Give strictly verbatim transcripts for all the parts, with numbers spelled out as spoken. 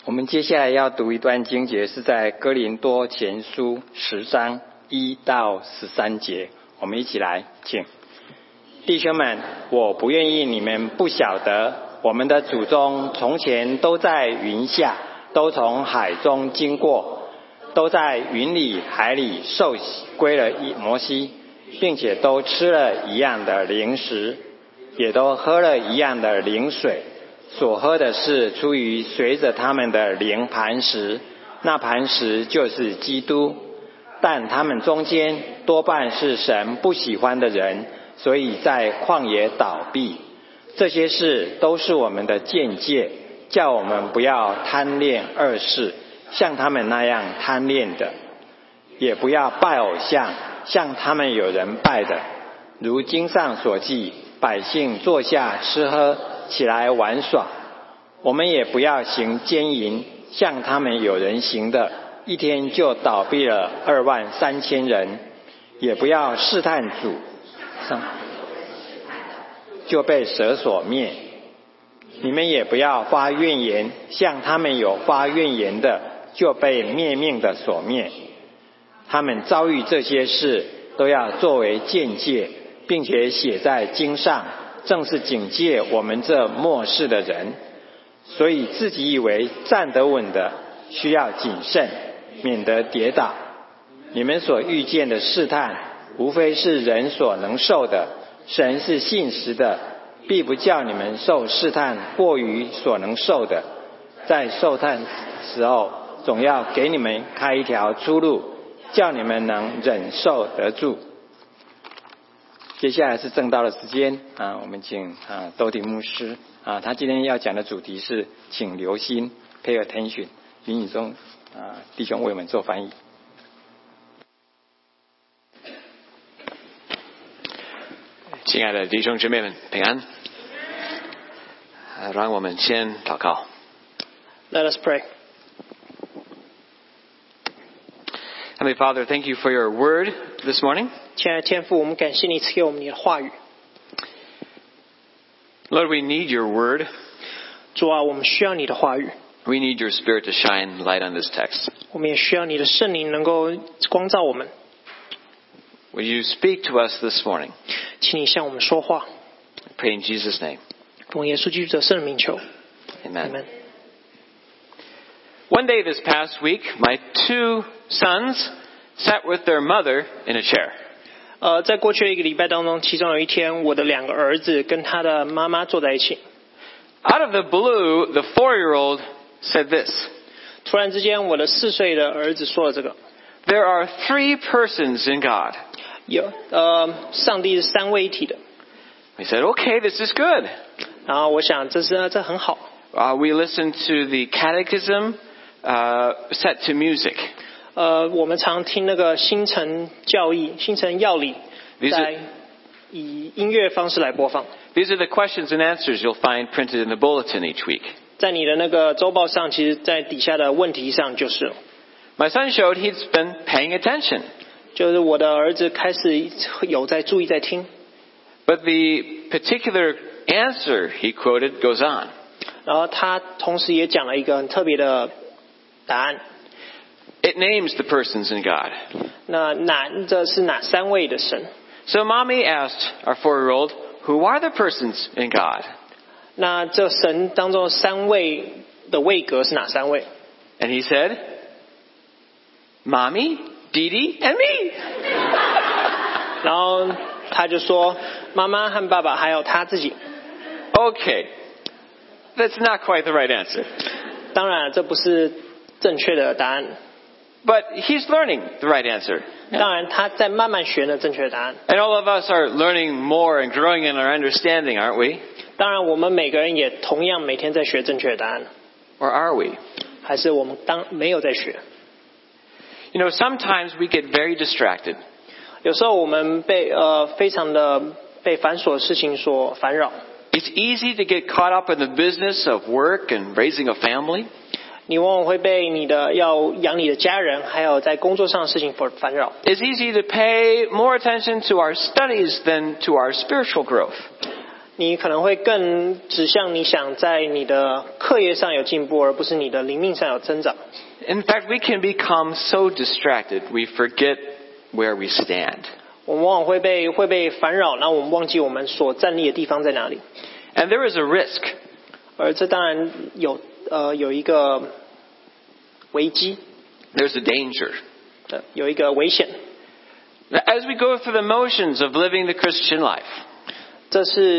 我们接下来要读一段经节，是在哥林多前书十章一到十三节。我们一起来，请。弟兄们，我不愿意你们不晓得，我们的祖宗从前都在云下，都从海中经过，都在云里海里受洗归了摩西，并且都吃了一样的灵食，也都喝了一样的灵水。所喝的是出于随着他们的灵磐石，那磐石就是基督。但他们中间多半是神不喜欢的人，所以在旷野倒闭。这些事都是我们的鉴戒，叫我们不要贪恋恶事，像他们那样贪恋的；也不要拜偶像，像他们有人拜的。如经上所记，百姓坐下吃喝，起来玩耍。我们也不要行奸淫，像他们有人行的，一天就倒闭了二万三千人。也不要试探主，就被蛇所灭。你们也不要发怨言，像他们有发怨言的，就被灭命的所灭。他们遭遇这些事，都要作为鉴戒，并且写在经上，正是警戒我们这末世的人。所以自己以为站得稳的，需要谨慎，免得跌倒。你们所遇见的试探，无非是人所能受的。神是信实的，必不叫你们受试探过于所能受的。在受探时候，总要给你们开一条出路，叫你们能忍受得住。接下来是正道的时间啊，我们请啊周庭牧师啊，他今天要讲的主题是请留心 ，pay attention， 云雨中啊弟兄为我们做翻译。 亲爱的弟兄姊妹们，平安。让我们先祷告。 Let us pray. Heavenly Father, thank you for your word this morning. 亲爱的天父，我们感谢你赐给我们你的话语。 Lord, we need your word. 主啊，我们需要你的话语。 We need your Spirit to shine light on this text. 我们也需要你的圣灵能够光照我们。 Will you speak to us this morning? 请你向我们说话。 I pray in Jesus' name. 奉耶稣基督的圣名求。 Amen. Amen. One day this past week, my two sons sat with their mother in a chair. 呃，在过去的一个礼拜当中，其中有一天，我的两个儿子跟他的妈妈坐在一起。 Out of the blue, the four-year-old said this. 突然之间，我的四岁的儿子说了这个。 There are three persons in God. 有呃，上帝是三位一体的。 We said, okay, this is good. 然后我想这是这很好。 Uh, we listened to the catechism uh, set to music. 呃，我们常听那个新城教义、新城要理， These 在 are, 以音乐方式来播放。 these are the questions and answers you'll find printed in the bulletin each week. 在你的那个周报上，其实在底下的问题上就是， My son showed he'd been paying attention. 就是我的儿子开始有在注意在听。 But the particular answer he quoted goes on. 然后他同时也讲了一个很特别的答案。 It names the persons in God. 那哪这是哪三位的神？ So mommy asked our four-year-old, who are the persons in God? 那这神当中三位的位格是哪三位？ And he said, Mommy, Dee-Dee, and me. 然后他就说妈妈和爸爸还有他自己。 Okay, that's not quite the right answer. 当然这不是正确的答案。 But he's learning the right answer. 当然他在慢慢学呢正确的答案。 And all of us are learning more and growing in our understanding, aren't we? 当然我们每个人也同样每天在学正确的答案。 Or are we? 还是我们当没有在学？ You know, sometimes we get very distracted. 有时候我们被呃非常的被繁琐的事情所烦扰。 It's easy to get caught up in the business of work and raising a family. 你往往会被你的要养你的家人，还有在工作上的事情所烦扰。 It's easy to pay more attention to our studies than to our spiritual growth. 你可能会更指向你想在你的课业上有进步，而不是你的灵命上有增长。 In fact, we can become so distracted, we forget where we stand. 我们往往会被会被烦扰，然后我们忘记我们所站立的地方在哪里。 And there is a risk. 而这当然有呃有一个危机， There's a danger. 呃有一个危险。 As we go through the motions of living the Christian life, 这是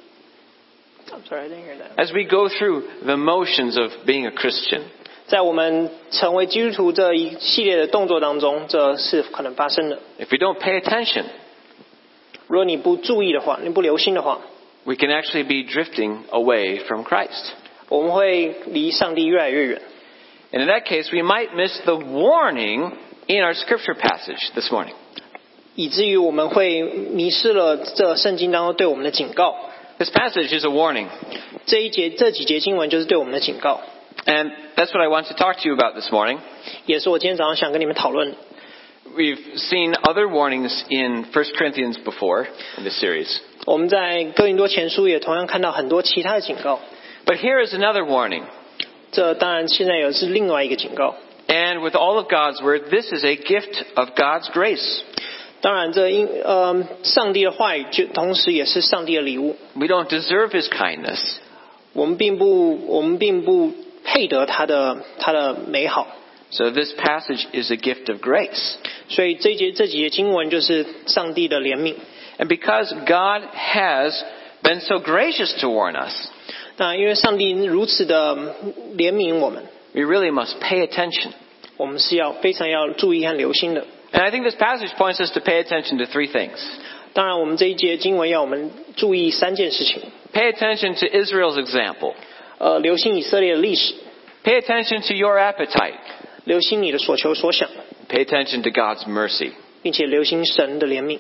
I'm sorry, I didn't hear that. as we go through the motions of being a Christian, 在我们成为基督徒这一系列的动作当中，这是可能发生的。 if we don't pay attention, 如果你不注意的话，你不留心的话， we can actually be drifting away from Christ. 我们会离上帝越来越远。 And in that case, we might miss the warning in our scripture passage this morning. 以至于我们会迷失了这圣经当中对我们的警告。 This passage is a warning. 这一节这几节经文就是对我们的警告， And that's what I want to talk to you about this morning. 也是我今天早上想跟你们讨论的。 We've seen other warnings in First Corinthians before in this series. 我们在哥林多前书也同样看到很多其他的警告， But here is another warning. 这当然现在也是另外一个警告。 And with all of God's word, this is a gift of God's grace. 当然这因呃上帝的话语就同时也是上帝的礼物， We don't deserve his kindness. 我们并不我们并不配得他的他的美好， So this passage is a gift of grace. 所以这一节这几节经文就是上帝的怜悯。 And because God has been so gracious to warn us, 那因为上帝如此的怜悯我们， we really must pay attention. 我们是要非常要注意和留心的。 And I think this passage points us to pay attention to three things. 当然，我们这一节经文要我们注意三件事情。 Pay attention to Israel's example. 呃，留心以色列的历史， Pay attention to your appetite. 留心你的所求所想， Pay attention to God's mercy. 并且留心神的怜悯。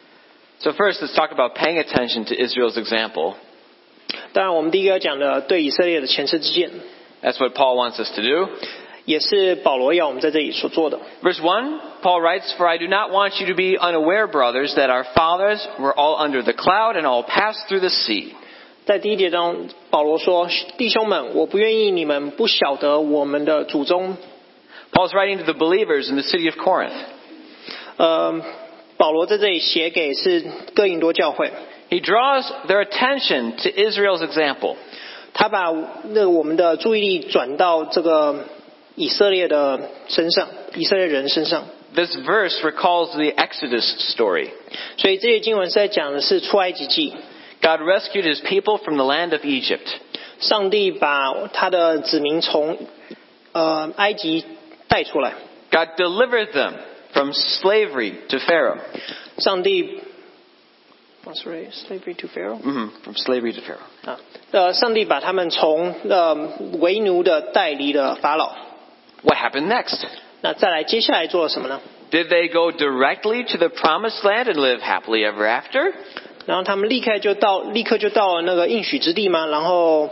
So first, let's talk about paying attention to Israel's example. 当然，我们第一个要讲的对以色列的前车之鉴， That's what Paul wants us to do. 也是保罗要我们在这里所做的。 Verse one, Paul writes, For I do not want you to be unaware, brothers, that our fathers were all under the cloud and all passed through the sea. 在第一节中，保罗说：“弟兄们，我不愿意你们不晓得我们的祖宗。” Paul's writing to the believers in the city of Corinth. 呃，保罗在这里写给是哥林多教会， He draws their attention to Israel's example. 他把那我们的注意力转到这个以色列的身上，以色列人身上。 This verse recalls the Exodus story. 所以这些经文是在讲的是出埃及记， God rescued his people from the land of Egypt. 上帝把他的子民从呃埃及带出来， God delivered them from slavery to Pharaoh. 上帝 sorry slavery to Pharaoh Mm-hmm. From slavery to Pharaoh. 啊，呃，上帝把他们从呃为奴的带离了法老。 What happened next? 那再来，接下来做了什么呢？ Did they go directly to the promised land and live happily ever after? 然后他们立刻就到，立刻就到了那个应许之地吗？然后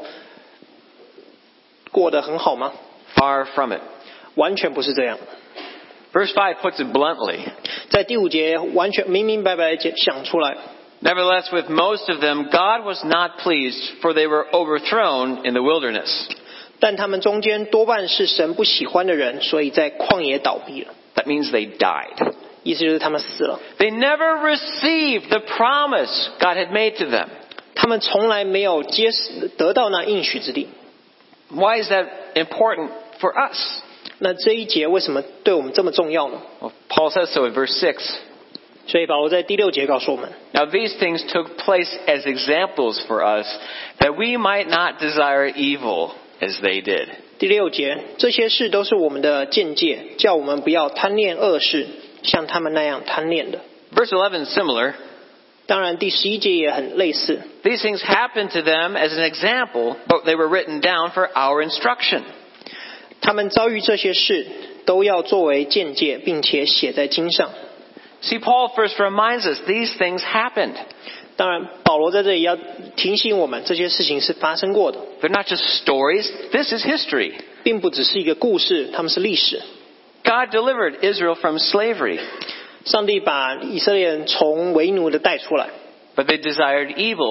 过得很好吗？ Far from it. 完全不是这样。 Verse five puts it bluntly. 在第五节完全明明白白地讲出来。 Nevertheless, with most of them, God was not pleased, for they were overthrown in the wilderness. 但他们中间多半是神不喜欢的人，所以在旷野倒闭了。 That means they died. 意思就是他们死了。 They never received the promise God had made to them. 他们从来没有接得到那应许之地。 Why is that important for us? 那这一节为什么对我们这么重要呢？ Well, Paul says so in verse six. 所以保罗在第六节告诉我们， Now these things took place as examples for us, that we might not desire evil as they did. 第六节这些事都是我们的见解，叫我们不要贪恋恶事，像他们那样贪恋的。 Verse eleven is similar. 当然，第十一节也很类似。 These things happened to them as an example, but they were written down for our instruction. 他们遭遇这些事，都要作为见解，并且写在经上。 See, Paul first reminds us these things happened. 当然，保罗在这里要提醒我们，这些事情是发生过的， They're not just stories. This is history. 并不只是一个故事，他们是历史。 God delivered Israel from slavery, 上帝把以色列人从为奴的带出来， but they desired evil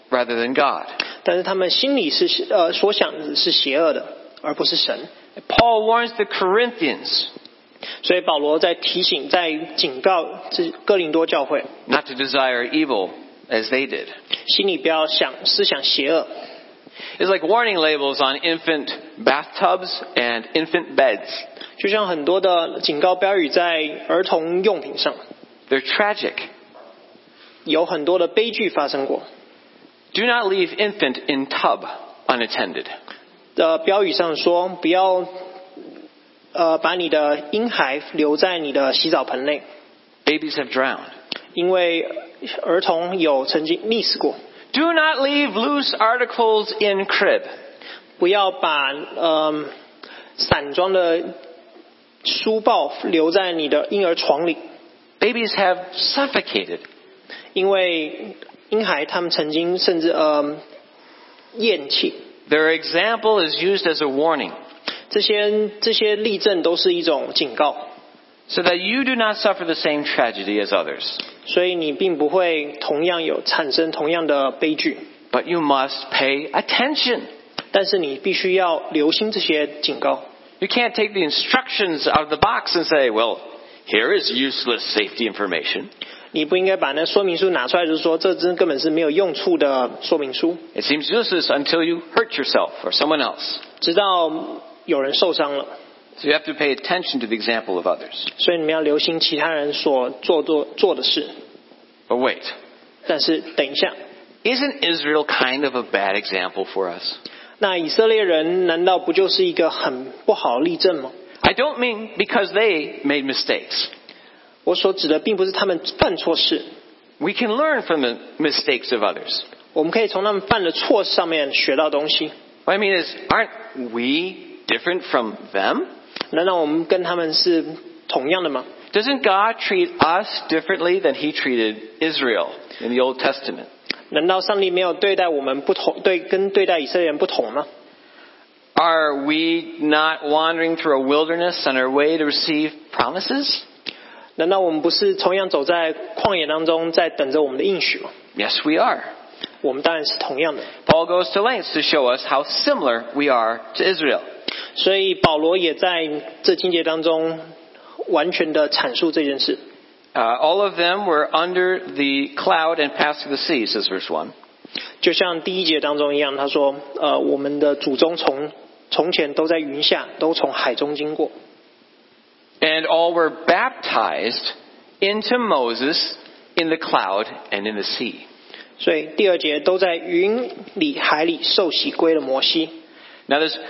rather than God. 但是他们心里是呃所想的是邪恶的，而不是神。 Paul warns the Corinthians 所以保罗在提醒，在警告这哥林多教会， not to desire evil as they did. 心里不要想思想邪恶。 It's like warning labels on infant bathtubs and infant beds. 就像很多的警告标语在儿童用品上， They're tragic. 有很多的悲剧发生过。 Do not leave infant in tub unattended. 的标语上说，不要呃把你的婴孩留在你的洗澡盆内， Babies have drowned. 因为儿童有曾经溺死过。 Do not leave loose articles in crib. 不要把呃散装的书报留在你的婴儿床里， Babies have suffocated. 因为婴孩他们曾经甚至呃咽气。 Their example is used as a warning, 这些这些例证都是一种警告， so that you do not suffer the same tragedy as others. 所以你并不会同样有产生同样的悲剧， But you must pay attention. 但是你必须要留心这些警告。 You can't take the instructions out of the box and say, well, here is useless safety information. 你不应该把那说明书拿出来，就是说这真根本是没有用处的说明书， It seems useless until you hurt yourself or someone else. 直到有人受伤了。 So you have to pay attention to the example of others. 所以你们要留心其他人所做做做的事。 But wait, 但是等一下， isn't Israel kind of a bad example for us? 那以色列人难道不就是一个很不好的例证吗？ I don't mean because they made mistakes. 我所指的并不是他们犯错事， We can learn from the mistakes of others. 我们可以从他们犯的错上面学到东西。 What I mean is, aren't we different from them? 难道我们跟他们是同样的吗？ Doesn't God treat us differently than He treated Israel in the Old Testament? 难道上帝没有对待我们不同，对跟对待以色列人不同吗？ Are we not wandering through a wilderness on our way to receive promises? 难道我们不是同样走在旷野当中，在等着我们的应许吗？ Yes, we are. 我们当然是同样的。 Paul goes to lengths to show us how similar we are to Israel. 所以保罗也在这经节当中完全的阐述这件事。 Uh, all of them were under the cloud and passed through the sea, says verse one. 就像第一节当中一样，他说：“呃，我们的祖宗从从前都在云下，都从海中经过。” And all were baptized into Moses in the cloud and in the sea. 所以第二节都在云里、海里受洗归了摩西。 Now this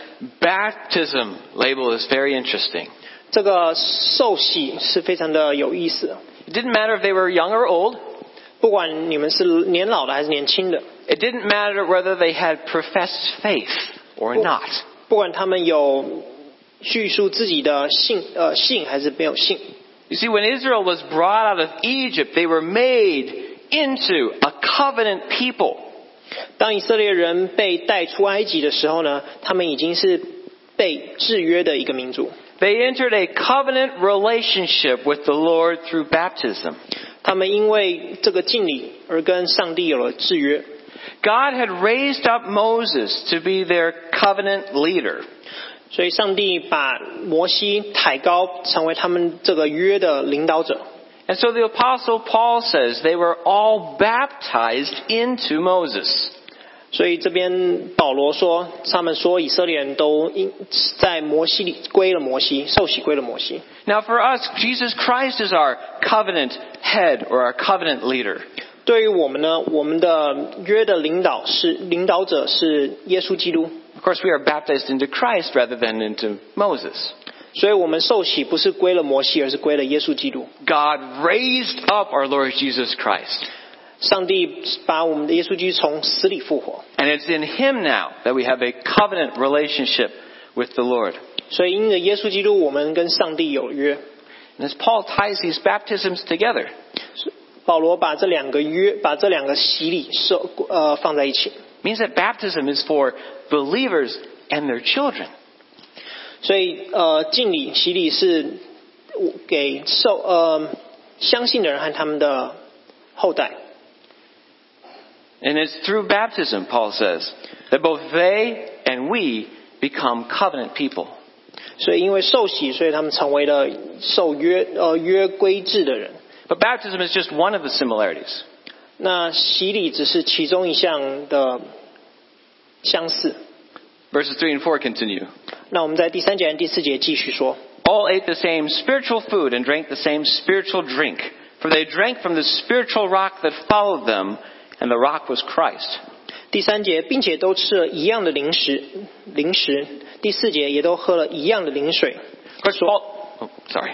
baptism label is very interesting. 这个受洗是非常的有意思， It didn't matter if they were young or old. 不管你们是年老的还是年轻的， It didn't matter whether they had professed faith or not. 不管他们有叙述自己的信呃信还是没有信。 You see, when Israel was brought out of Egypt, they were made into a covenant people. 当以色列人被带出埃及的时候呢，他们已经是被制约的一个民族。 They entered a covenant relationship with the Lord through baptism. 他们因为这个敬礼而跟上帝有了制约。 God had raised up Moses to be their covenant leader. 所以上帝把摩西抬高，成为他们这个约的领导者。 And so the apostle Paul says they were all baptized into Moses. 所以这边保罗说，他们说以色列人都因在摩西里归了摩西，受洗归了摩西。 Now for us, Jesus Christ is our covenant head or our covenant leader. 对于我们呢，我们的约的领导是领导者是耶稣基督。 Of course, we are baptized into Christ rather than into Moses. 所以我们受洗不是归了摩西，而是归了耶稣基督。 God raised up our Lord Jesus Christ. 上帝把我们的耶稣基督从死里复活， And it's in Him now that we have a covenant relationship with the Lord. 所以因着耶稣基督，我们跟上帝有约。 And as Paul ties these baptisms together, 保罗把这两个约，把这两个洗礼受呃放在一起， means that baptism is for believers and their children. 所以呃敬礼洗礼是给受呃相信的人和他们的后代。 And it's through baptism, Paul says, that both they and we become covenant people. 所以因为受洗，所以他们成为了受约呃约规制的人。 But baptism is just one of the similarities. 那洗礼只是其中一项的相似。 Verses three and four continue. 那我们在第三节和第四节继续说。 All ate the same spiritual food and drank the same spiritual drink, for they drank from the spiritual rock that followed them, and the rock was Christ. 第三节，并且都吃了一样的零食，零食。第四节也都喝了一样的灵水。 Of course, Paul, oh, sorry.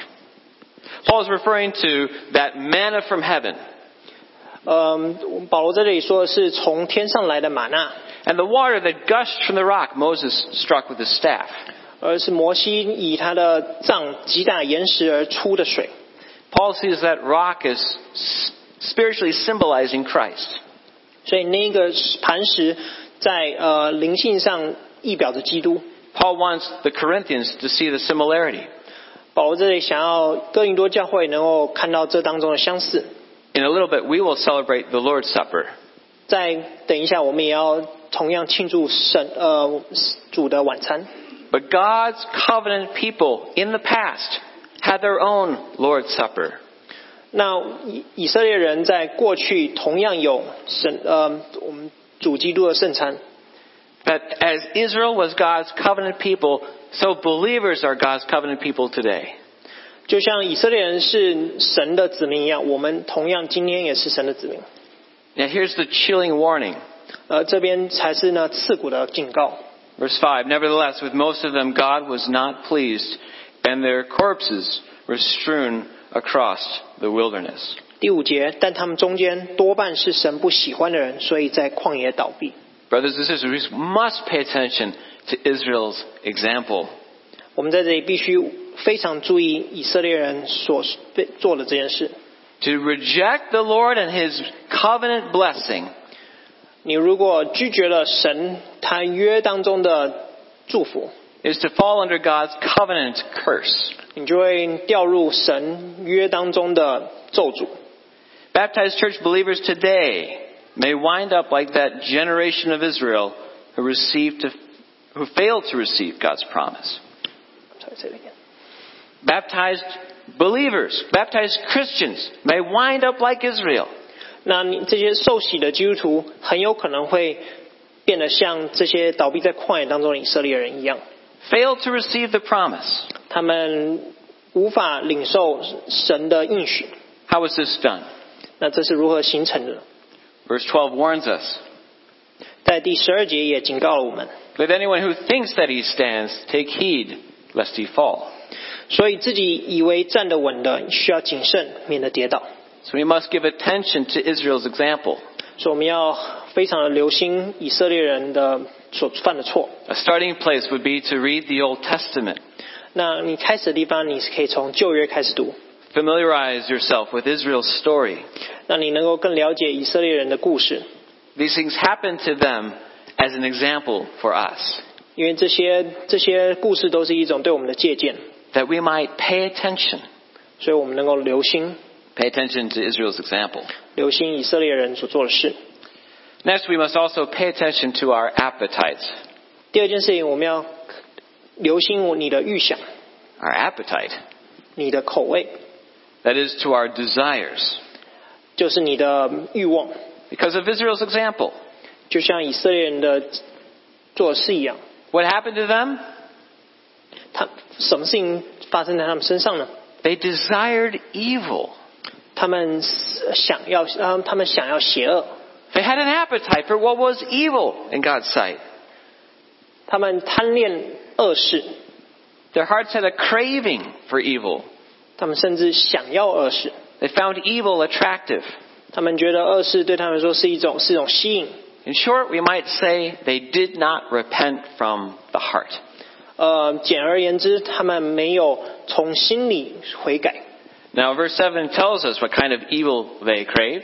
Paul is referring to that manna from heaven. 嗯，保罗在这里说的是从天上来的玛纳， And the water that gushed from the rock Moses struck with his staff. 而是摩西以他的杖击打岩石而出的水。 Paul sees that rock as spiritually symbolizing Christ. 所以那个磐石在呃灵性上意表着基督。 Paul wants the Corinthians to see the similarity. 保罗这里想要哥林多教会能够看到这当中的相似。 In a little bit, we will celebrate the Lord's Supper. 再等一下，我们也要同样庆祝神呃主的晚餐。 But God's covenant people in the past had their own Lord's Supper. 那以以色列人在过去同样有神呃我们主基督的圣餐。 That as Israel was God's covenant people, so believers are God's covenant people today. 就像以色列人是神的子民一样，我们同样今天也是神的子民。 Now here's the chilling warning. 呃，这边才是呢刺骨的警告。 Verse five, Nevertheless, with most of them God was not pleased, and their corpses were strewn across the wilderness. 第五节，但他们中间多半是神不喜欢的人，所以在旷野倒闭。 Brothers and sisters, we must pay attention to Israel's example. 我们在这里必须非常注意以色列人所做的这件事。 To reject the Lord and His covenant blessing, 你如果拒绝了神他约当中的祝福， is to fall under God's covenant curse. 你就会掉入神约当中的咒诅。 Baptized church believers today may wind up like that generation of Israel who received to, who failed to receive God's promise. Sorry, say it again. Baptized believers, baptized Christians may wind up like Israel. 那你这些受洗的基督徒很有可能会变得像这些倒闭在旷野当中的以色列人一样， Failed to receive the promise. 他们无法领受神的应许。 How was this done? 那这是如何形成的？ Verse twelve warns us. 在第十二节也警告了我们， Let anyone who thinks that he stands take heed lest he fall. 所以自己以为站得稳的，需要谨慎，免得跌倒。 So we must give attention to Israel's example. 所以我们要非常的留心以色列人的所犯的错。 A starting place would be to read the Old Testament. 那你开始的地方，你是可以从旧约开始读， Familiarize yourself with Israel's story. 让你能够更了解以色列人的故事。 These things happened to them as an example for us, 因为这些这些故事都是一种对我们的借鉴， that we might pay attention. 所以我们能够留心 Pay attention to Israel's example. 留心以色列人所做的事。 Next, we must also pay attention to our appetites. 第二件事情，我们要留心你的预想， Our appetite. 你的口味， That is, to our desires. 就是你的欲望， Because of Israel's example. 就像以色列人的做的事一样。 What happened to them? 他什么事情发生在他们身上呢？ They desired evil. 他们想要，呃，他们想要邪恶， They had an appetite for what was evil in God's sight. 他们贪恋恶事， Their hearts had a craving for evil. 他们甚至想要恶事， They found evil attractive. 他们觉得恶事对他们来说是一种是一种吸引。 In short, we might say they did not repent from the heart. 呃，简而言之，他们没有从心里悔改。 Now, verse seven tells us what kind of evil they craved.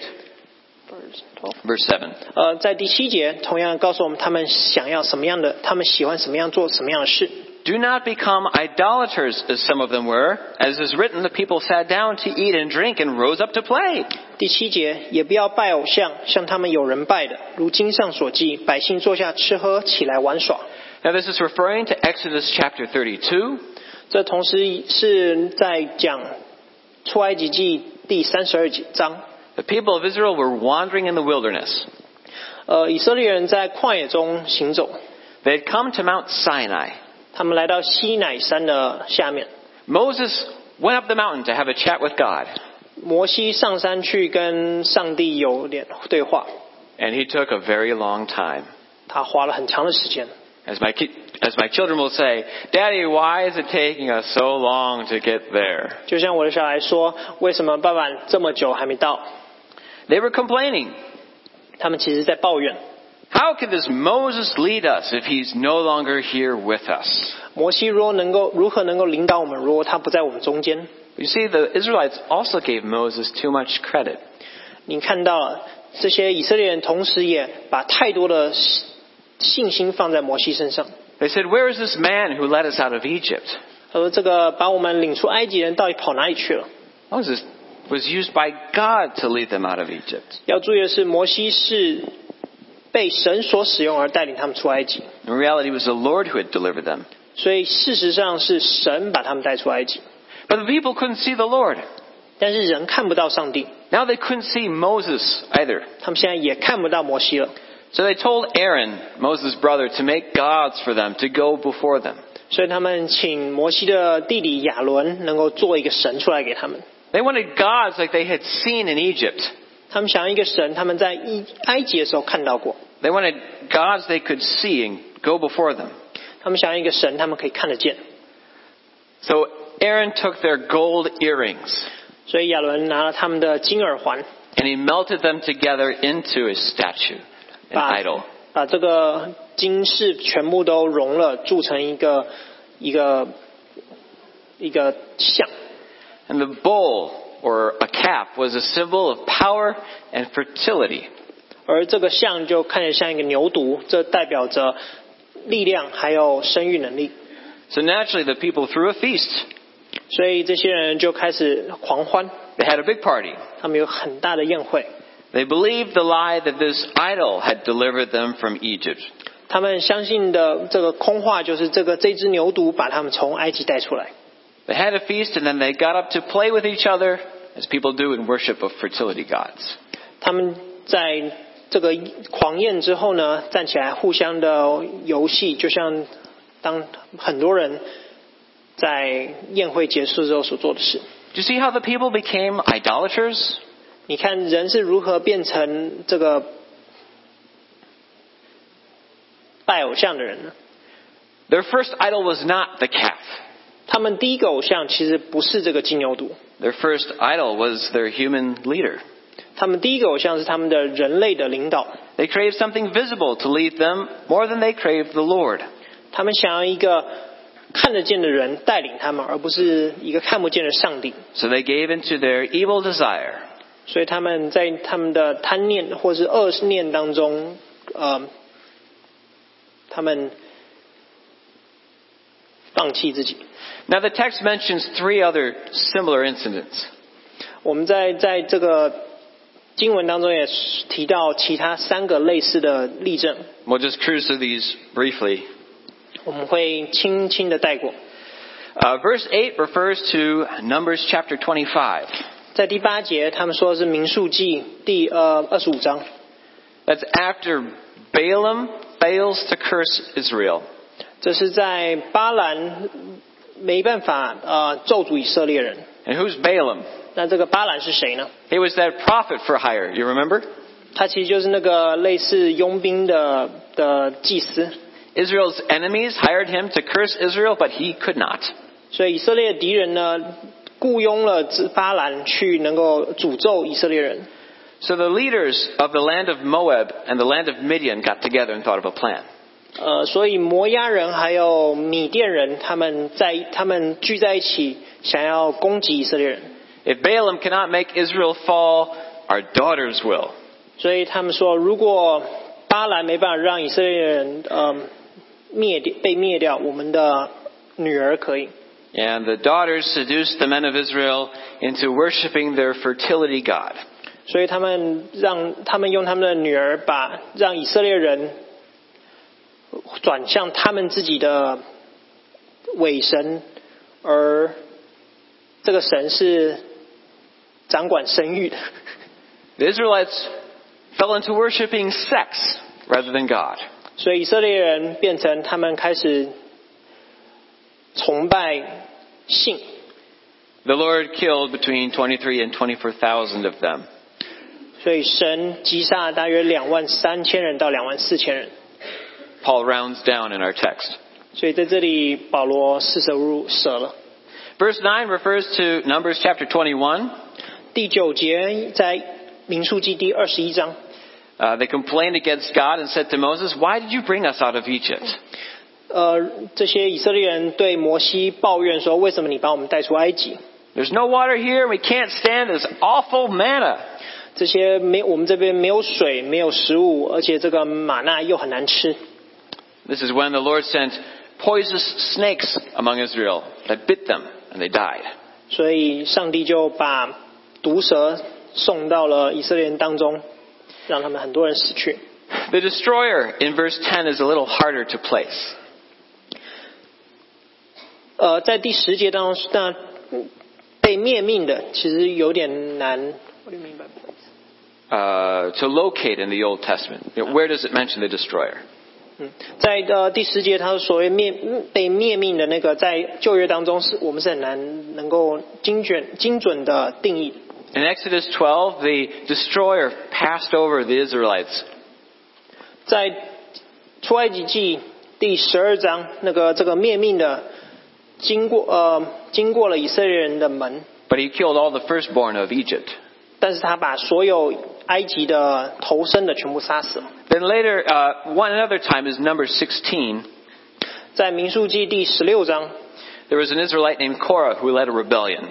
Verse seven. 呃，在第七节同样告诉我们他们想要什么样的，他们喜欢什么样做什么样的事。 Do not become idolaters, as some of them were. As is written, the people sat down to eat and drink and rose up to play. 第七节，也不要拜偶像，像他们有人拜的，如经上所记，百姓坐下吃喝，起来玩耍。 Now this is referring to Exodus chapter thirty-two. 这同时是在讲出埃及记第三十二章。 The people of Israel were wandering in the wilderness. 呃，以色列人在旷野中行走。 They had come to Mount Sinai. 他们来到西乃山的下面。 Moses went up the mountain to have a chat with God. 摩西上山去跟上帝有点对话。 And he took a very long time. 他花了很长的时间。 As my ki- as my children will say, Daddy, why is it taking us so long to get there? 就像我的小孩说，为什么爸爸这么久还没到？ They were complaining. 他们其实在抱怨。 How can this Moses lead us if he's no longer here with us? 摩西如何能够如何能够领导我们？如果他不在我们中间？ You see, the Israelites also gave Moses too much credit. 你看到了，这些以色列人同时也把太多的信心放在摩西身上。 They said, Where is this man who led us out of Egypt? 他说：“这个把我们领出埃及人到底跑哪里去了？” Moses was used by God to lead them out of Egypt. 要注意的是，摩西是被神所使用而带领他们出埃及。 In reality, it was the Lord who had delivered them. 所以事实上是神把他们带出埃及。 But the people couldn't see the Lord. 但是人看不到上帝。 Now they couldn't see Moses either. 他们现在也看不到摩西了。 So they told Aaron, Moses' brother, to make gods for them, to go before them. 所以他们请摩西的弟弟亚伦能够做一个神出来给他们。 They wanted gods like they had seen in Egypt. 他们想要一个神，他们在埃及的时候看到过。 They wanted gods they could see and go before them. 他们想要一个神，他们可以看得见。 So Aaron took their gold earrings. 所以亚伦拿了他们的金耳环， And he melted them together into a statue, an 把 idol. 把这个金饰全部都融了，铸成一个一个一个像。 And the bowl, or a cap, was a symbol of power and fertility. 而这个像就看着像一个牛犊，这代表着力量还有生育能力。 So naturally the people threw a feast. 所以这些人就开始狂欢， They had a big party. 他们有很大的宴会。 They believed the lie that this idol had delivered them from Egypt. 他们相信的这个空话就是这个这只牛犊把他们从埃及带出来。 They had a feast and then they got up to play with each other as people do in worship of fertility gods. 他们在这个狂宴之后呢，站起来互相的游戏，就像当很多人在宴会结束之后所做的事。 Do you see how the people became idolaters? 你看人是如何变成这个拜偶像的人呢？ Their first idol was not the calf. 他们第一个偶像其实不是这个金牛犊， Their first idol was their human leader. 他们第一个偶像是他们的人类的领导。 They craved something visible to lead them more than they craved the Lord. 他们想要一个看得见的人带领他们，而不是一个看不见的上帝。 So they gave into their evil desire. 所以他们在他们的贪念或是恶念当中，呃，他们放弃自己。 Now the text mentions three other similar incidents. 我们在在这个经文当中也提到其他三个类似的例证， We'll just cruise through these briefly. 我们会轻轻的带过。 Uh, verse eight refers to Numbers chapter twenty-five. 在第八节，他们说的是民数记第呃二十五章， That's after Balaam fails to curse Israel. 这是在巴兰没办法呃咒诅以色列人。 And who's Balaam? 那这个巴兰是谁呢？ He was that prophet for hire. You remember? 他其实就是那个类似佣兵的的祭司。 Israel's enemies hired him to curse Israel, but he could not. 所以以色列敌人呢，雇佣了巴兰去能够诅咒以色列人。 So the leaders of the land of Moab and the land of Midian got together and thought of a plan. 呃，所以摩押人还有米甸人，他们在他们聚在一起，想要攻击以色列人。 If Balaam cannot make Israel fall, our daughters will. 所以他们说，如果巴兰没办法让以色列人呃灭掉被灭掉，我们的女儿可以。 And the daughters seduced the men of Israel into worshiping their fertility god. 所以他们让他们用他们的女儿把让以色列人转向他们自己的伪神，而这个神是掌管生育的。 The Israelites fell into worshiping sex rather than God. 所以以色列人变成他们开始崇拜性。 The Lord killed between twenty-three and twenty-four thousand of them. 所以神击杀大约两万三千人到两万四千人。 Paul rounds down in our text. 所以在这里保罗四舍五入舍了。 Verse nine refers to Numbers chapter twenty-one. 第九节在民数记第二十一章。 Uh, they complained against God and said to Moses, "Why did you bring us out of Egypt?" 呃，这些以色列人对摩西抱怨说：“为什么你把我们带出埃及？ There's no water here. We can't stand this awful manna. 这些没我们这边没有水，没有食物，而且这个玛纳又很难吃。” This is when the Lord sent poisonous snakes among Israel that bit them and they died. 所以上帝就把毒蛇送到了以色列人当中，让他们很多人死去。 The destroyer in verse ten is a little harder to place. 呃，在第十节当中，那被灭命的其实有点难。What do you mean by place? Uh, to locate in the Old Testament. You know, where does it mention the destroyer? 嗯，在呃第十节，他所谓灭被灭命的那个，在旧约当中是我们是很难能够精准精准的定义。 In Exodus twelve, the destroyer passed over the Israelites. 在出埃及记第十二章，那个这个灭命的经过呃经过了以色列人的门， But he killed all the firstborn of Egypt. 但是他把所有埃及的头生的全部杀死了。 Then later, uh, one another time is number sixteen. 在民数记第十六章， There was an Israelite named Korah who led a rebellion.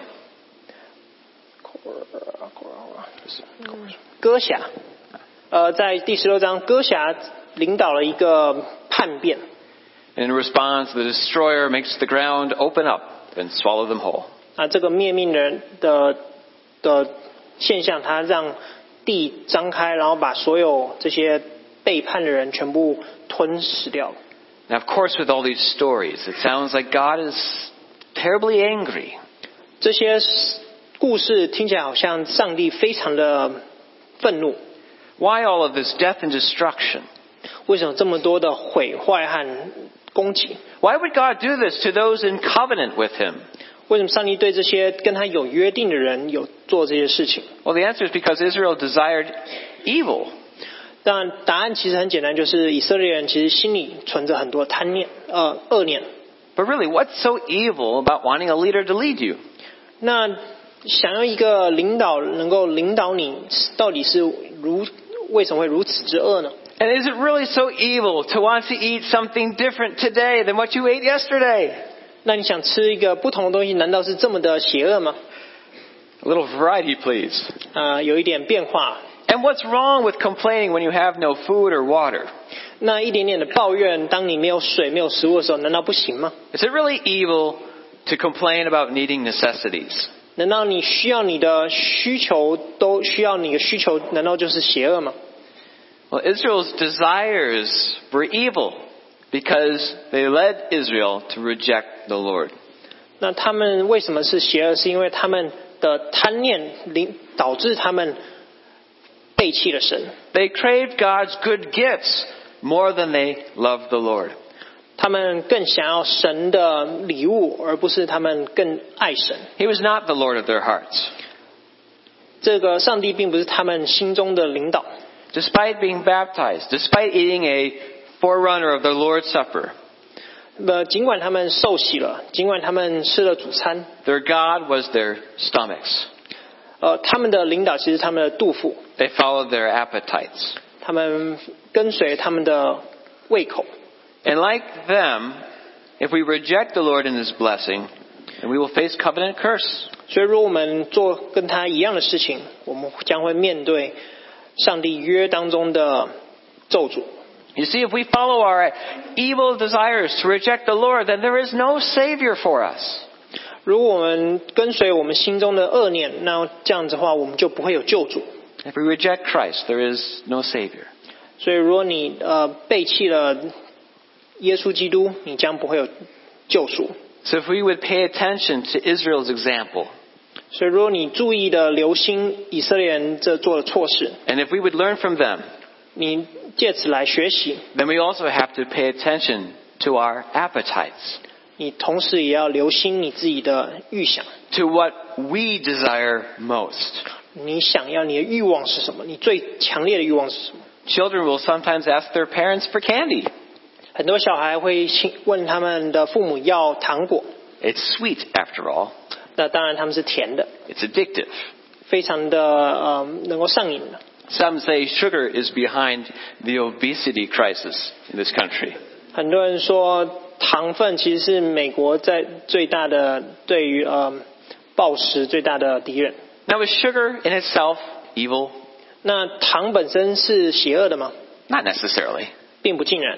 歌辖，呃，在第十六章，歌辖领导了一个叛变。 And in response, the destroyer makes the ground open up and swallow them whole. 啊，这个灭命人的的现象，他让地张开，然后把所有这些背叛的人全部吞噬掉。 Now, of course, with all these stories, it sounds like God is terribly angry. 这些故事听起来好像上帝非常的愤怒。 Why all of this death and destruction? 为什么这么多的毁坏和攻击？ Why would God do this to those in covenant with him? 为什么上帝对这些跟他有约定的人有做这些事情？ Well, the answer is because Israel desired evil. 当然，答案其实很简单，就是以色列人其实心里存着很多贪念、呃恶念。 But really, what's so evil about wanting a leader to lead you? 那想要一个领导能够领导你，到底是如为什么会如此之恶呢？ And is it really so evil to want to eat something different today than what you ate yesterday? 那你想吃一个不同的东西，难道是这么的邪恶吗？ A little variety, please. 啊、有一点变化。 And what's wrong with complaining when you have no food or water? 那一点点的抱怨，当你没有水、没有食物的时候，难道不行吗？ Is it really evil to complain about needing necessities? 难道你需要你的需求都需要你的需求，难道就是邪恶吗？ Well, Israel's desires were evil because they led Israel to reject the Lord. 那他们为什么是邪恶？是因为他们的贪念领导致他们背弃了神。 They craved God's good gifts more than they loved the Lord. 他们更想要神的礼物，而不是他们更爱神。 He was not the Lord of their hearts. 这个上帝并不是他们心中的领导。 Despite being baptized, despite eating a forerunner of the Lord's Supper, 呃，尽管他们受洗了，尽管他们吃了主餐， their God was their stomachs. 呃，他们的领导其实他们的肚腹， They followed their appetites. 他们跟随他们的胃口。 And like them, if we reject the Lord in His blessing, then we will face covenant curse. 所以，如果我们做跟他一样的事情，我们将会面对上帝约当中的咒诅。 You see, if we follow our evil desires to reject the Lord, then there is no Savior for us. 如果我们跟随我们心中的恶念，那这样子的话，我们就不会有救主。 If we reject Christ, there is no Savior. 所以，如果你呃背弃了耶稣基督，你将不会有救赎。 So if we would pay attention to Israel's example, 所以，如果你注意的留心以色列人这做的错事， and if we would learn from them, 你借此来学习， then we also have to pay attention to our appetites, 你同时也要留心你自己的预想， to what we desire most. 你想要你的欲望是什么？你最强烈的欲望是什么？ Children will sometimes ask their parents for candy. 很多小孩会问他们的父母要糖果， It's sweet after all. 那当然他们是甜的， It's addictive. 非常的呃能够上瘾的。 Some say sugar is behind the obesity crisis in this country. 很多人说糖分其实是美国在最大的对于呃暴食最大的敌人。 Now, is sugar in itself evil? 那糖本身是邪恶的吗？ Not necessarily. 并不尽然。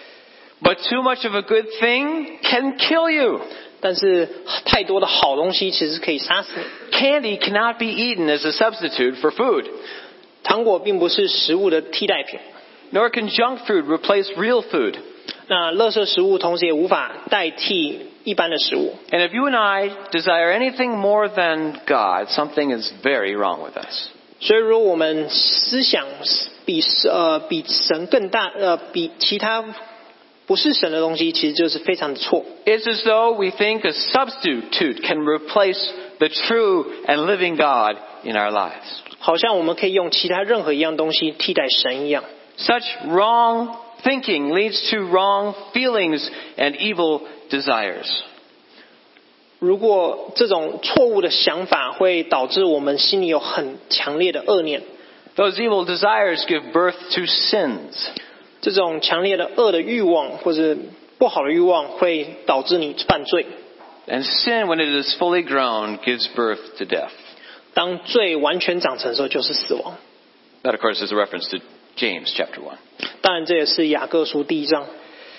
But too much of a good thing can kill you. 但是太多的好东西其实可以杀死你。 Candy cannot be eaten as a substitute for food. 糖果并不是食物的替代品。 Nor can junk food replace real food. 那垃圾食物同时也无法代替一般的食物。 And if you and I desire anything more than God, something is very wrong with us. 所以，如果我们思想比呃比神更大，呃比其他不是神的东西，其实就是非常的错。 It's as though we think a substitute can replace the true and living God in our lives. 好像我们可以用其他任何一样东西替代神一样。 Such wrong thinking leads to wrong feelings and evil desires. 如果这种错误的想法会导致我们心里有很强烈的恶念， Those evil desires give birth to sins. 这种强烈的恶的欲望或者不好的欲望会导致你犯罪。 And sin, when it is fully grown, gives birth to death. 当罪完全长成的时候，就是死亡。 That, of course, is a reference to James chapter one. 当然，这也是雅各书第一章。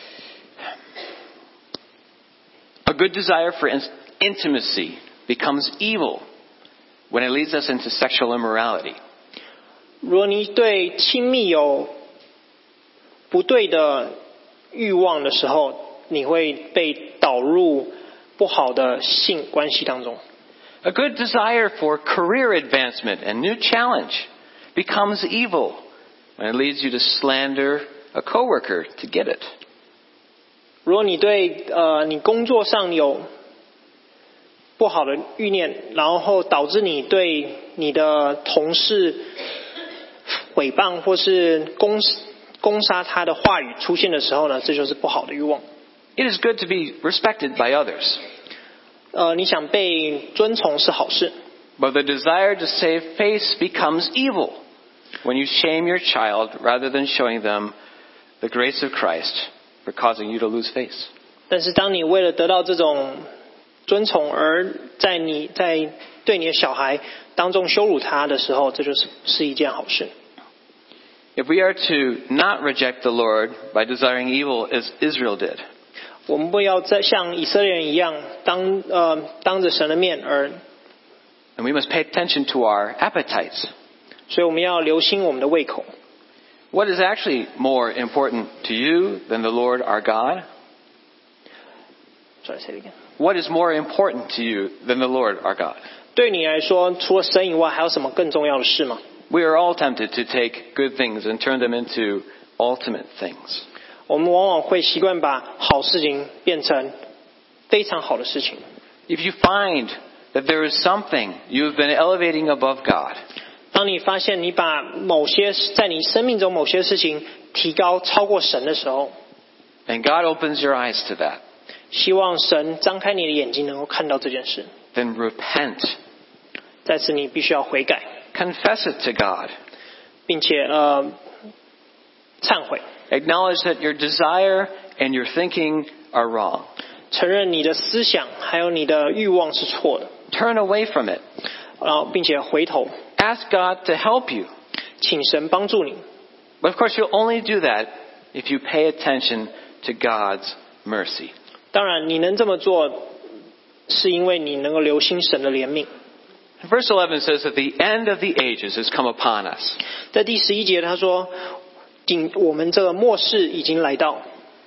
A good desire for in- intimacy becomes evil when it leads us into sexual immorality. 如果你对亲密有不对的欲望的时候，你会被导入不好的性关系当中。 A good desire for career advancement and new challenge becomes evil when it leads you to slander a coworker to get it. 如果你对呃你工作上有不好的欲念，然后导致你对你的同事诽谤或是攻攻杀他的话语出现的时候呢，这就是不好的欲望。 It is good to be respected by others, 呃，你想被尊崇是好事， but the desire to save face becomes evil when you shame your child rather than showing them the grace of Christ for causing you to lose face. 但是当你为了得到这种尊崇而在你在对你的小孩当中羞辱他的时候，这就是是一件好事。 If we are to not reject the Lord by desiring evil as Israel did, 我们不要再像以色列人一样当呃当着神的面而， and we must pay attention to our appetites. 所以我们要留心我们的胃口。 What is actually more important to you than the Lord our God? Sorry, say it again. What is more important to you than the Lord our God? 对你来说，除了神以外，还有什么更重要的事吗？ We are all tempted to take good things and turn them into ultimate things. 我们往往会习惯把好事情变成非常好的事情。 If you find that there is something you've been elevating above God, 当你发现你把某些在你生命中某些事情提高超过神的时候， and God opens your eyes to that, 希望神张开你的眼睛，能够看到这件事。 then repent. 在此，你必须要悔改， Confess it to God. 并且呃忏悔， Acknowledge that your desire and your thinking are wrong. 承认你的思想还有你的欲望是错的， Turn away from it. 然后并且回头， Ask God to help you. 请神帮助你。 But of course, you'll only do that if you pay attention to God's mercy. 当然，你能这么做，是因为你能够留心神的怜悯。 Verse eleven says that the end of the ages has come upon us. 在第十一节他说，今我们这个末世已经来到。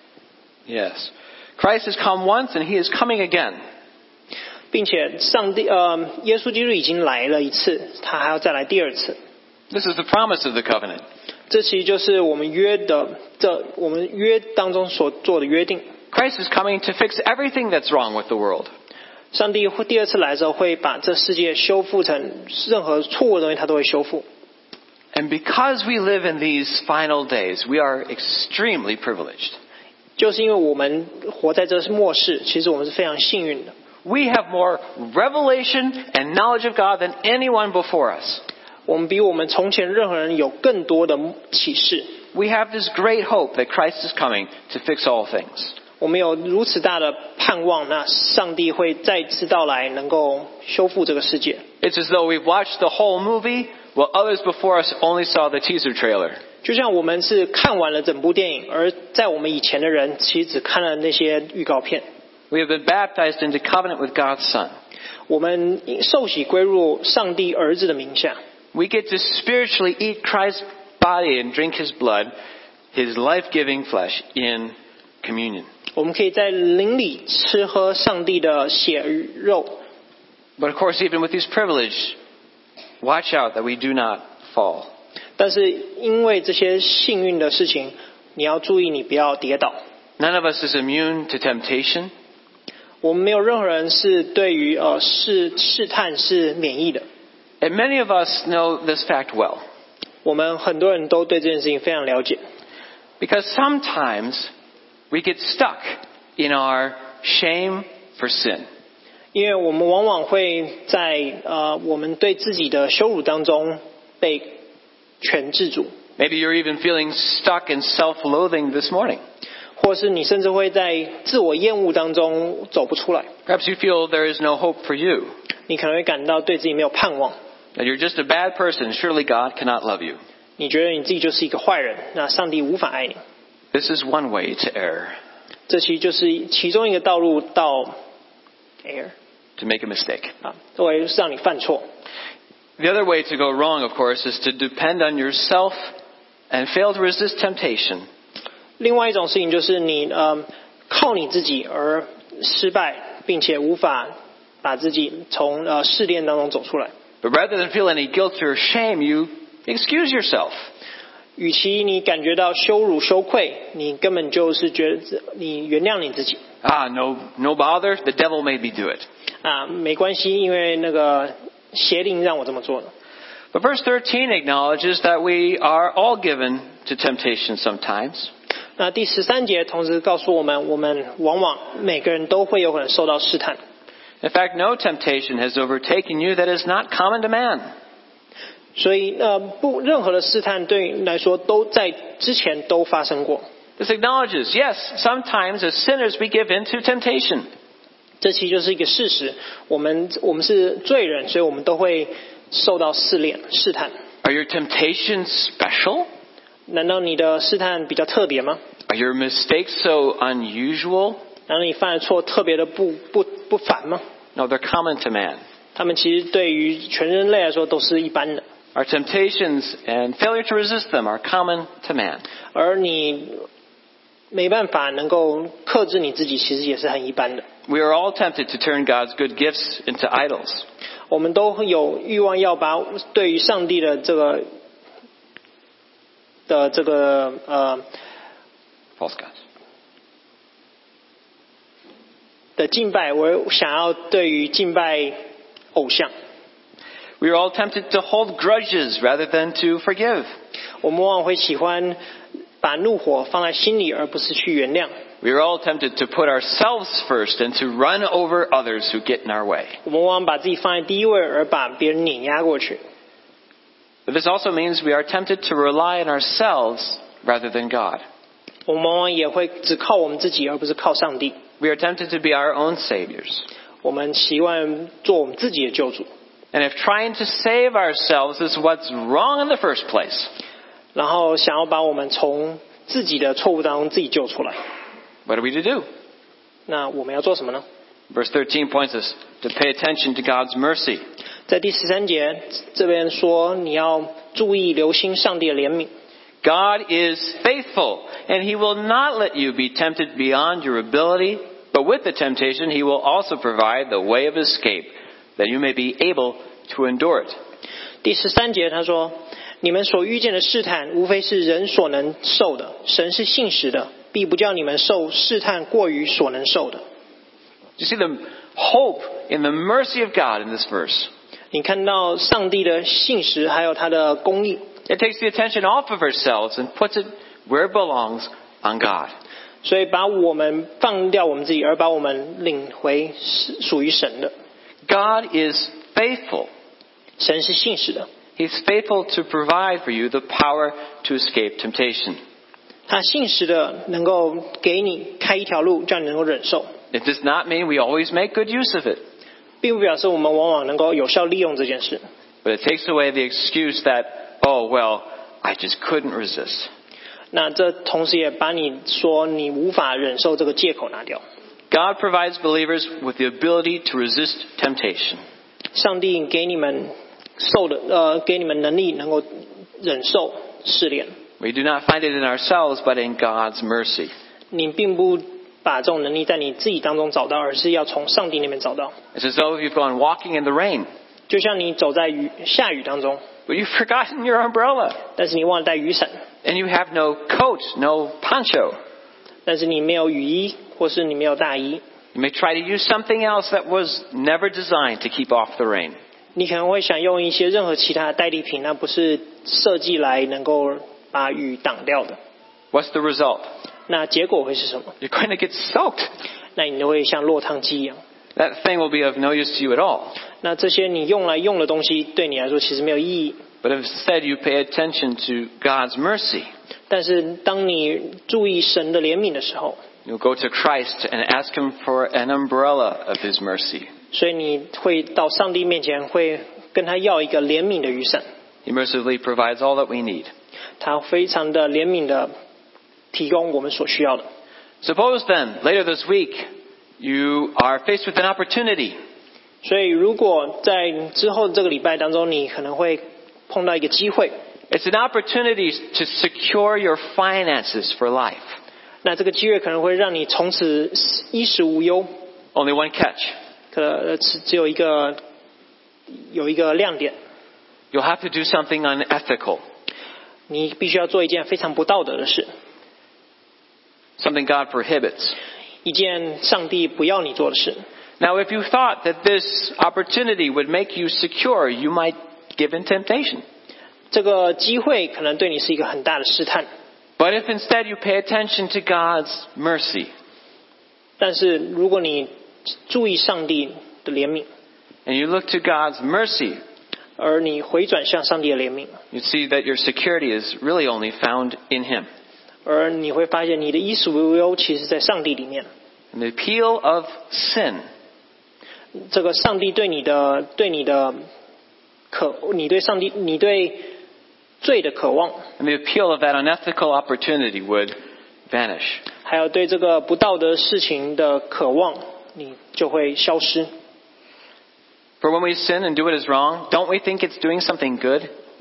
Yes. Christ has come once and he is coming again. 并且上帝呃，耶稣基督已经来了一次，他还要再来第二次。 This is the promise of the covenant. 这其实就是我们约的，这我们约当中所做的约定。 Christ is coming to fix everything that's wrong with the world. 上帝会第二次来的时候，会把这世界修复成任何错误的东西，他都会修复。 And because we live in these final days, we are extremely privileged. 就是因为我们活在这末世，其实我们是非常幸运的。 We have more revelation and knowledge of God than anyone before us. 我们比我们从前任何人有更多的启示。 We have this great hope that Christ is coming to fix all things. 我们有如此大的盼望，那上帝会再次到来，能够修复这个世界。 It's as though we've watched the whole movie, while others before us only saw the teaser trailer. 就像我们是看完了整部电影，而在我们以前的人其实只看了那些预告片。 We have been baptized into covenant with God's Son. 我们受洗归入上帝儿子的名下。 We get to spiritually eat Christ's body and drink his blood, his life-giving flesh, in communion. 我们可以在灵里吃喝上帝的血与肉。 But of course, even with this privilege, watch out that we do not fall. 但是因为这些幸运的事情，你要注意，你不要跌倒。 None of us is immune to temptation. 我们没有任何人是对于呃试试探是免疫的。 And many of us know this fact well. 我们很多人都对这件事情非常了解。 Because sometimes we get stuck in our shame for sin. 因为我们往往会在呃我们对自己的羞辱当中被全制住。 Maybe you're even feeling stuck in self-loathing this morning. 或是你甚至会在自我厌恶当中走不出来。 Perhaps you feel there is no hope for you. 你可能会感到对自己没有盼望。 That you're just a bad person. Surely God cannot love you. 你觉得你自己就是一个坏人，那上帝无法爱你。 This is one way to err. 这其实就是其中一个道路到 err To make a mistake. 啊，会让你犯错。 The other way to go wrong, of course, is to depend on yourself and fail to resist temptation. 另外一种事情就是你呃靠你自己而失败，并且无法把自己从呃试炼当中走出来。 But rather than feel any guilt or shame, you excuse yourself. 与其你感觉到羞辱羞愧，你根本就是觉得你原谅你自己。 Ah, no, no bother. The devil made me do it. 啊，没关系，因为那个邪灵让我这么做的。 But verse thirteen acknowledges that we are all given to temptation sometimes. 那第十三节同时告诉我们，我们往往每个人都会有可能受到试探。 In fact, no temptation has overtaken you that is not common to man. 所以呃，不，任何的试探对你来说都在之前都发生过。 This acknowledges, yes, sometimes as sinners we give in to temptation. 这其实就是一个事实，我们我们是罪人，所以我们都会受到试炼、试探。 Are your temptations special? 难道你的试探比较特别吗？ Are your mistakes so unusual? 难道你犯的错特别的不不不凡吗？ No, they're common to man. 他们其实对于全人类来说都是一般的。 Our temptations and failure to resist them are common to man. 而你没办法能够克制你自己，其实也是很一般的。 We are all tempted to turn God's good gifts into idols. 我们都有欲望要把对于上帝的这个的这个呃 False gods. 的敬拜，我想要对于敬拜偶像。 We are all tempted to hold grudges rather than to forgive. 我们往往会喜欢把怒火放在心里，而不是去原谅。 We are all tempted to put ourselves first and to run over others who get in our way. 我们往往把自己放在第一位，而把别人碾压过去。 But this also means we are tempted to rely on ourselves rather than God. 我们往往也会只靠我们自己，而不是靠上帝。 We are tempted to be our own saviors. 我们习惯做我们自己的救主。 And if trying to save ourselves is what's wrong in the first place, 然后想要把我们从自己的错误当中自己救出来。 What are we to do? 那我们要做什么呢？ Verse thirteen points us to pay attention to God's mercy. 在第十三节这边说，你要注意留心上帝的怜悯。 God is faithful, and He will not let you be tempted beyond your ability, but with the temptation He will also provide the way of escape, that you may be able to endure it. 第十三节他说，你们所遇见的试探，无非是人所能受的，神是信实的，必不叫你们受试探过于所能受的。 You see the hope in the mercy of God in this verse. 你看到上帝的信实，还有他的公义。 It takes the attention off of ourselves and puts it where it belongs, on God. 所以把我们放掉我们自己，而把我们领回属于神的。 God is faithful. 神是信实的， He's faithful to provide for you the power to escape temptation. 他信实的能够给你开一条路，叫你能够忍受， It does not mean we always make good use of it, 并不表示我们往往能够有效利用这件事。 but it takes away the excuse that, oh, well, I just couldn't resist. 那这同时也把你说你无法忍受这个借口拿掉。 God provides believers with the ability to resist temptation. 上帝给你们受的呃，给你们能力能够忍受试炼。 We do not find it in ourselves, but in God's mercy. 你并不把这种能力在你自己当中找到，而是要从上帝那边找到。 It's as though you've gone walking in the rain, 就像你走在雨下雨当中， but you've forgotten your umbrella, 但是你忘了带雨伞， and you have no coat, no poncho. 但是你没有雨衣，或是你没有大衣， You may try to use something else that was never designed to keep off the rain. 你可能会想用一些任何其他的代替品，那不是设计来能够把雨挡掉的。 What's the result? 那结果会是什么？ You're going to get soaked. 那你就会像落汤鸡一样。 That thing will be of no use to you at all. 那这些你用来用的东西，对你来说其实没有意义。 But instead you pay attention to God's mercy. 但是当你注意神的怜悯的时候， You'll go to Christ and ask Him for an umbrella of His mercy. 所以你会到上帝面前，会跟他要一个怜悯的雨伞。 He mercifully provides all that we need. 他非常的怜悯的提供我们所需要的。 Suppose then, later this week, you are faced with an opportunity. 所以如果在之后这个礼拜当中，你可能会碰到一个机会， It's an opportunity to secure your finances for life. 那这个机会可能会让你从此衣食无忧。 Only one catch. 可能只只有一个有一个亮点， You'll have to do something unethical. 你必须要做一件非常不道德的事， Something God prohibits. 一件上帝不要你做的事。 Now, if you thought that this opportunity would make you secure, you might give in temptation. 这个机会可能对你是一个很大的试探， But if instead you pay attention to God's mercy, 但是如果你注意上帝的怜悯， and you look to God's mercy, 而你回转向上帝的怜悯， you see that your security is really only found in Him. 而你会发现你的衣食无忧其实在上帝里面。 And the appeal of sin, 这个上帝对你的对你的渴，你对上帝你对罪的渴望， and the appeal of that unethical opportunity would vanish. 还有对这个不道德事情的渴望，你就会消失。 For when we sin and do what is wrong, don't we think it's doing something good?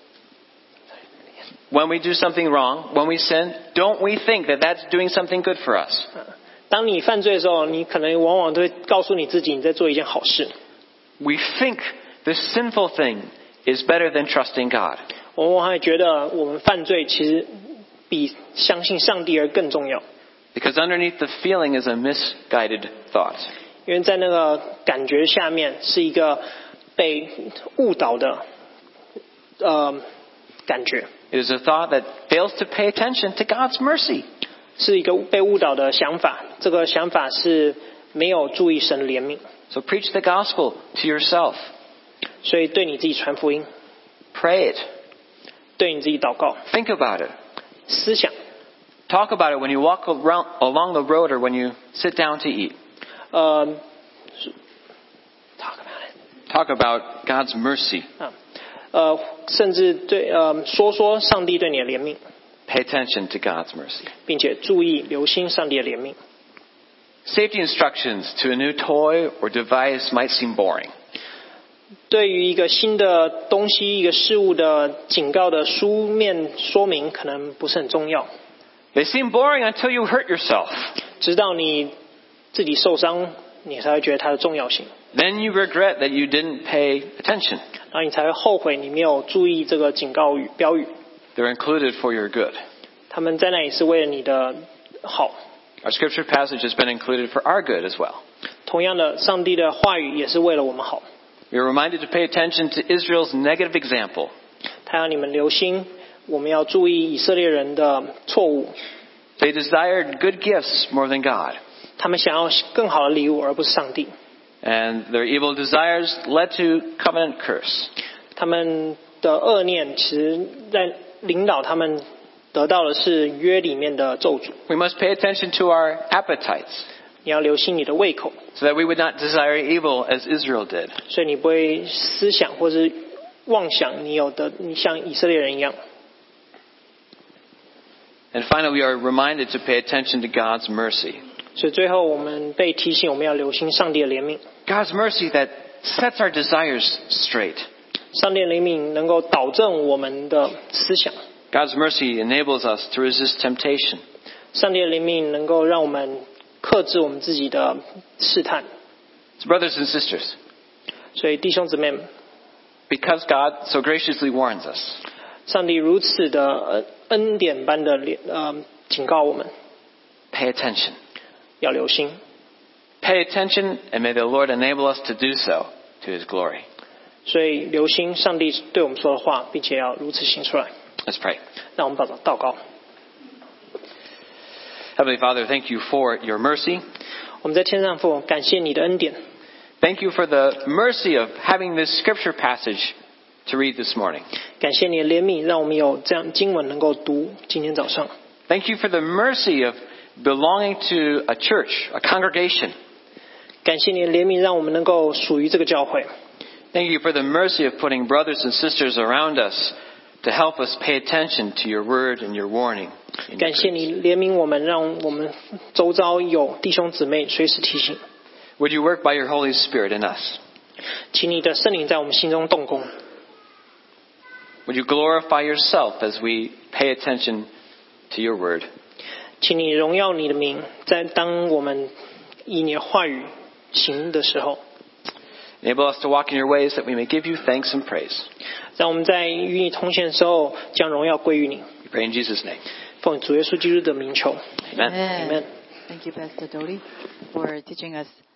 When we do something wrong, when we sin, don't we think that that's doing something good for us? 当你犯罪的时候，你可能往往都会告诉你自己你在做一件好事。 We think the sinful thing is better than trusting God. 我们往往会觉得我们犯罪其实比相信上帝而更重要， Because underneath the feeling is a misguided thought. 因为在那个感觉下面是一个被误导的呃感觉， It is a thought that fails to pay attention to God's mercy. 是一个被误导的想法。这个想法是没有注意神的怜悯， So preach the gospel to yourself. 所以对你自己传福音， Pray it. 对你自己祷告， Think about it. 思想， Talk about it when you walk around, along the road or when you sit down to eat. 呃 ，talk about it Talk about God's mercy. 啊，呃，甚至对呃说说上帝对你的怜悯， pay attention to God's mercy. 并且注意留心上帝的怜悯。 Safety instructions to a new toy or device might seem boring. 对于一个新的东西、一个事物的警告的书面说明，可能不是很重要。 They seem boring until you hurt yourself. 直到你自己受伤，你才会觉得它的重要性。 Then you regret that you didn't pay attention. 然后你才会后悔你没有注意这个警告语标语。 They're included for your good. 他们在那里是为了你的好。 Our scripture passage has been included for our good as well. 同样的，上帝的话语也是为了我们好。 We are reminded to pay attention to Israel's negative example. 他要你们留心，我们要注意以色列人的错误。 They desired good gifts more than God. 他们想要更好的礼物，而不是上帝。 And their evil desires led to covenant curse. 他们的恶念其实在领导他们得到的是约里面的咒诅。 We must pay attention to our appetites. 你要留心你的胃口， So that we would not desire evil as Israel did. 所以你不会思想或是妄想你有的，你像以色列人一样。 And finally, we are reminded to pay attention to God's mercy. 所以最后我们被提醒，我们要留心上帝的怜悯。 God's mercy that sets our desires straight. 上帝的怜悯能够导正我们的思想。 God's mercy enables us to resist temptation. 上帝的怜悯能够让我们克制我们自己的试探。 So brothers and sisters, 所以弟兄姊妹们， because God so graciously warns us, 上帝如此的恩恩典般的呃警告我们， pay attention. 要留心。 Pay attention, and may the Lord enable us to do so to His glory. 所以留心上帝对我们说的话，并且要如此行出来。 Let's pray. 让我们祷告。 Heavenly Father, thank you for your mercy. 我们在天上父，感谢你的恩典。 Thank you for the mercy of having this scripture passage to read this morning. 感谢你的怜悯，让我们有这样经文能够读今天早上。 Thank you for the mercy of belonging to a church, a congregation. 感谢你的怜悯，让我们能够属于这个教会。 Thank you for the mercy of putting brothers and sisters around us to help us pay attention to your word and your warning. 感谢你怜悯我们，让我们周遭有弟兄姊妹随时提醒。 Would you work by your Holy Spirit in us? 请你的圣灵在我们心中动工。 Would you glorify yourself as we pay attention to your word? 请你荣耀你的名，在当我们以你的话语行的时候， Enable us to walk in your ways that we may give you thanks and praise. 让我们在与你同行的时候，将荣耀归于你。 We pray in Jesus' name. 奉主耶稣基督的名求。 Amen. Amen. Thank you, Pastor Dodi, for teaching us